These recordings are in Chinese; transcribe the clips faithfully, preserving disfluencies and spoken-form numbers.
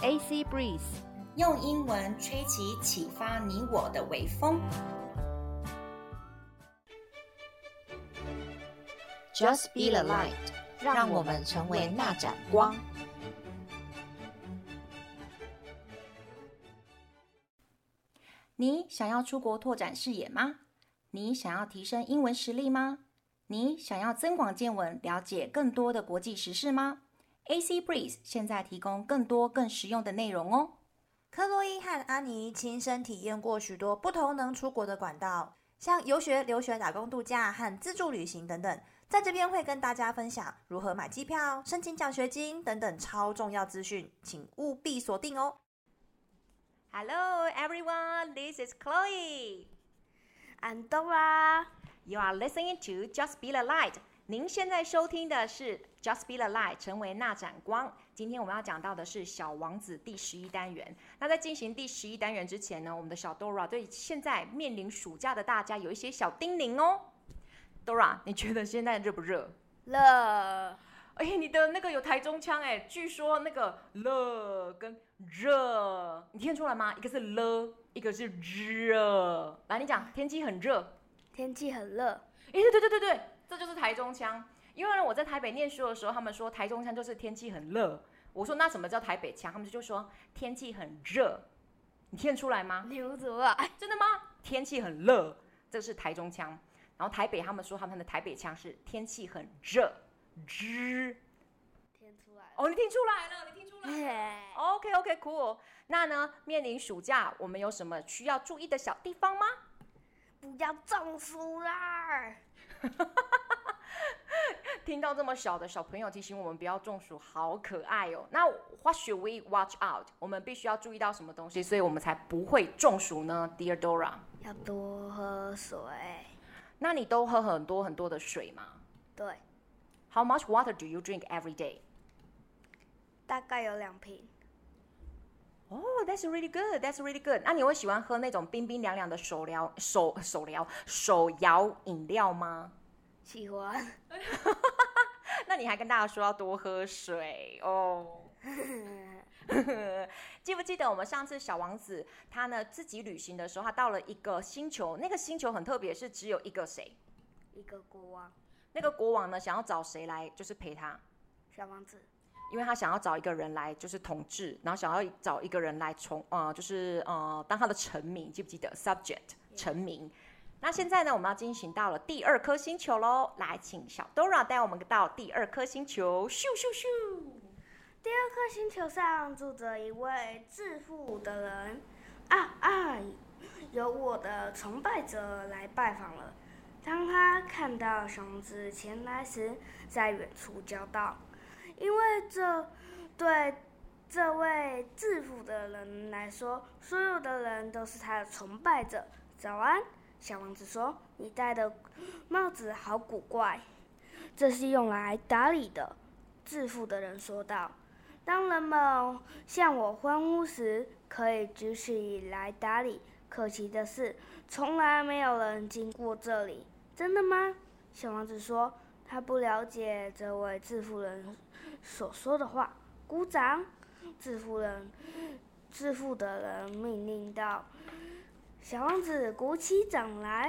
A C Breeze， 用英文吹起啟發你我的微風。 Just be the light， 讓我們成為那盞光。 你想要出國拓展視野嗎？你想要提升英文實力嗎？你想要增廣見聞，了解更多的國際時事嗎？ A C Breeze 現在提供更多更實用的內容哦。 克洛伊和安妮親身體驗過許多不同能出國的管道，像遊學、留學、打工度假和自助旅行等等。在這邊會跟大家分享如何買機票、申請獎學金等等超重要資訊，請務必鎖定哦。 Hello everyone, this is Chloe. I'm Dora. You are listening to Just Be the Light. 您現在收聽的是 Just Be the Light， 成為那盞光。今天我們要講到的是小王子第十一單元。那在進行第十一單元之前呢，我們的小 Dora 對現在面臨暑假的大家有一些小叮嚀哦。Dora， 你覺得現在熱不熱？ 熱。 哎，你的那個有台中腔哎，據說那個熱跟熱，你聽出來嗎？一個是了，一個是熱。來，你講，天氣很熱。 天氣很熱。 哎，對對對對對，這就是台中腔。因為我在台北念書的時候，他們說台中腔就是天氣很熱。我說那什麼叫台北腔？他們就說天氣很熱。你聽得出來嗎？ 聽不出來。 真的嗎？天氣很熱，這是台中腔。然後台北他們說他們的台北腔是天氣很熱，熱。 聽出來了。 哦，你聽出來了，你聽出來了。OK OK cool。那呢，面臨暑假，我們有什麼需要注意的小地方嗎？ 不要中暑啦！ 聽到這麼小的小朋友提醒我們不要中暑，好可愛哦。那 What should we watch out？ 我們必須要注意到什麼東西，所以我們才不會中暑呢 ？Dear Dora， 要多喝水。 那你都喝很多很多的水嗎？ 對。 How much water do you drink every day？ 大概有兩瓶。 哦、oh, that's really good, that's really good. 那你會喜歡喝那種冰冰涼涼的手搖手手搖手搖飲料嗎？ 喜歡。 那你還跟大家說要多喝水哦。記不記得我們上次小王子他呢自己旅行的時候，他到了一個星球，那個星球很特別，是只有一個誰？ 一個國王。 那個國王呢，想要找誰來就是陪他？ 小王子。 因為他想要找一個人來就是統治，然後想要找一個人來從呃就是呃當他的臣民，記不記得 subject 臣民？那現在呢，我們要進行到了第二顆星球嘍，來請小 Dora 帶我們到第二顆星球，咻咻咻！ 第二顆星球上住着一位致富的人，啊啊！有我的崇拜者來拜訪了。當他看到小王子前來時，在遠處叫道。因為這對這位致富的人來說，所有的人都是他的崇拜者。早安，小王子說：“你戴的帽子好古怪。”這是用來打理的，致富的人說道。當人們向我歡呼時，可以舉起來打理。可惜的是，從來沒有人經過這裡。真的嗎？小王子說。他不了解這位致富人所說的話。鼓掌！致富人，致富的人命令道。小王子鼓起掌來，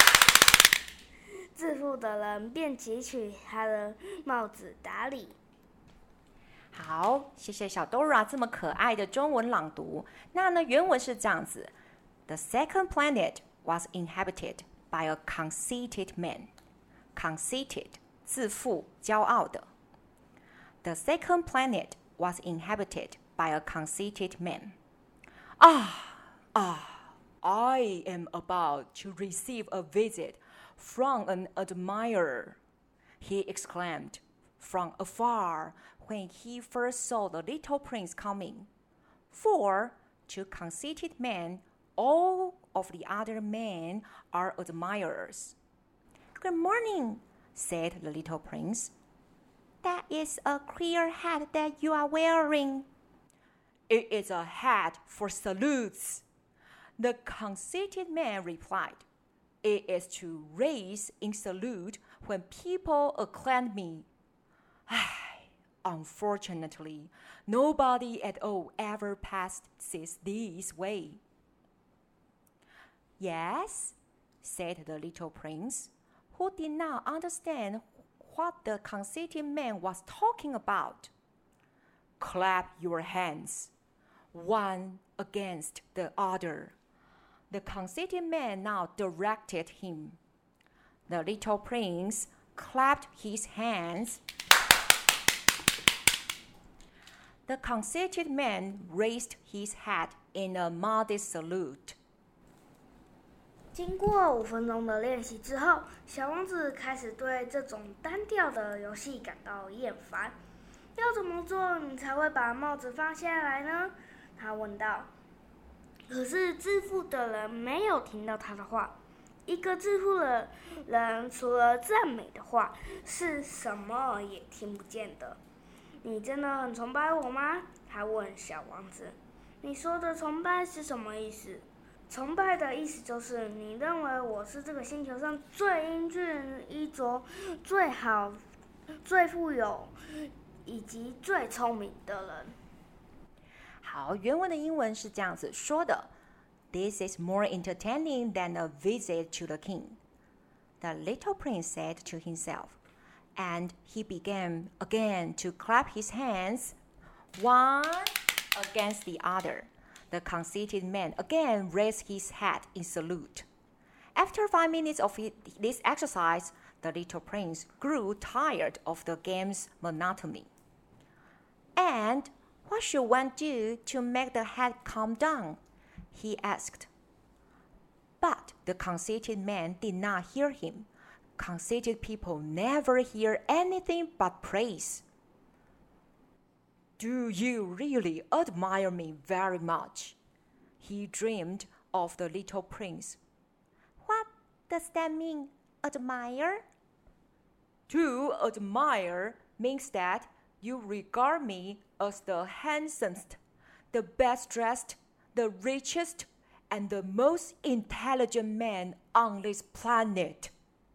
致富的人便汲取他的帽子打理。 好，謝謝小 Dora 這麼可愛的中文朗讀。那呢，原文是這樣子 ：The second planet was inhabited by a conceited man. Conceited. 自負、驕傲的。The second planet was inhabited by a conceited man. Ah, ah, I am about to receive a visit from an admirer, he exclaimed from afar when he first saw the little prince coming. For to conceited men, all of the other men are admirers. Good morning, said the little prince. That is a queer hat that you are wearing. It is a hat for salutes, the conceited man replied. It is to raise in salute when people acclaim me. unfortunately, nobody at all ever passes this way. Yes, said the little prince, who did not understand what the conceited man was talking about. Clap your hands, one against the other. The conceited man now directed him. The little prince clapped his hands. The conceited man raised his hat in a modest salute. 經過五分鐘的練習之後，小王子開始對這種單調的遊戲感到厭煩。要怎麼做你才會把帽子放下來呢？他問道。可是致富的人沒有聽到他的話。一個致富的人除了讚美的話，是什麼也聽不見的。你真的很崇拜我嗎？他問小王子。你說的崇拜是什麼意思？崇拜的意思就是你認為我是這個星球上最英俊、衣着最好、最富有以及最聰明的人。 好，原文的英文是這樣子說的 ：This is more entertaining than a visit to the king. The little prince said to himself, and he began again to clap his hands, one against the other.The conceited man again raised his hat in salute. After five minutes of this exercise, the little prince grew tired of the game's monotony. And what should one do to make the hat calm down? He asked. But the conceited man did not hear him. Conceited people never hear anything but praise.Do you really admire me very much? He dreamed of the little prince. What does that mean, admire? To admire means that you regard me as the handsomest, the best dressed, the richest, and the most intelligent man on this planet.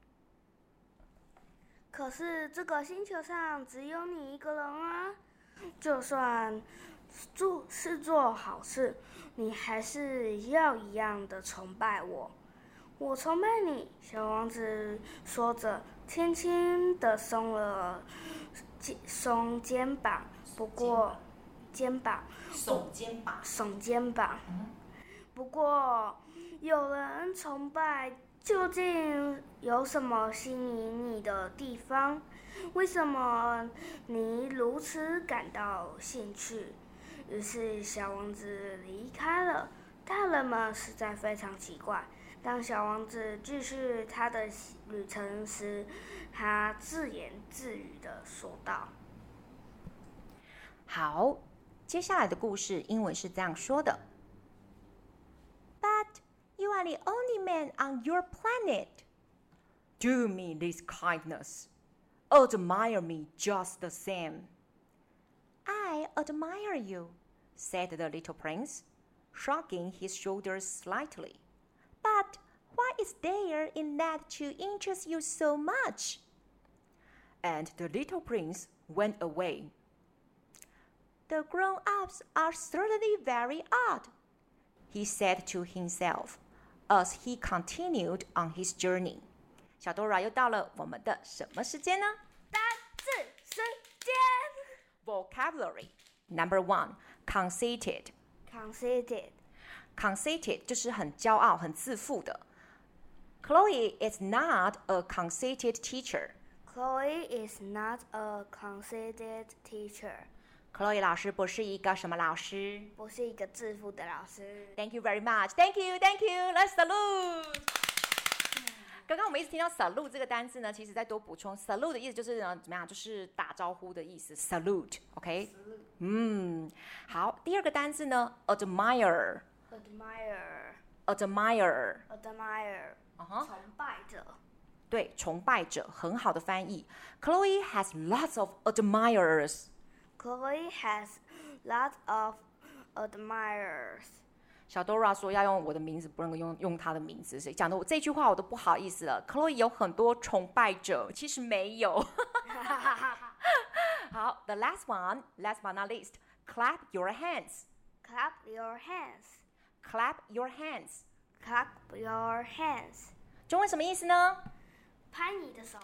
可是这個星球上只有你一個人啊。就算做是做好事，你還是要一樣的崇拜我。我崇拜你，小王子說着，輕輕地鬆了鬆肩膀。不過肩膀， 聳肩膀， 聳肩膀。不過有人崇拜，究竟有什麼吸引你的地方？為什麼你如此感到興趣？於是小王子離開了。大人們實在非常奇怪。當小王子繼續他的旅程時，他自言自語地說道：“ 好，接下來的故事英文是這樣說的 ：But you are the only man on your planet. Do me this kindness.Admire me just the same. I admire you, said the little prince, shrugging his shoulders slightly. But what is there in that to interest you so much? And the little prince went away. The grown-ups are certainly very odd, he said to himself, as he continued on his journey.小 Dora 又到了我們的什麼時間呢？ 單字時間。 Vocabulary Number one, conceited. Conceited. Conceited 就是很骄傲、很自負的。Chloe is not a conceited teacher. Chloe is not a conceited teacher. Chloe 老師不是一個什麼老師？ 不是一個自負的老師。 Thank you very much. Thank you, thank you. Let's salute.剛剛我們一直聽到 salute 這個單字呢，其實再多補充 salute 的意思就是呢，怎麼樣？就是打招呼的意思 salute。OK， 嗯，好，第二個單字呢 admire。admire。admire。admire。Uh-huh. 崇拜者。 對，崇拜者，很好的翻譯。Chloe has lots of admirers. Chloe has lots of admirers. 小 Dora 說要用我的名字，不能用用他的名字，所以講的我這句話我都不好意思了。Chloe 有很多崇拜者，其實沒有。 好 the last one, last but not least, clap your hands. Clap your hands. Clap your hands. Clap your hands. 中文什么意思呢？ 拍你的手。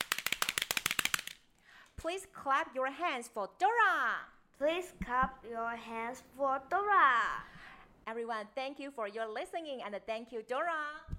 Please clap your hands for Dora. Please clap your hands for Dora. Everyone, thank you for your listening and thank you, Dora.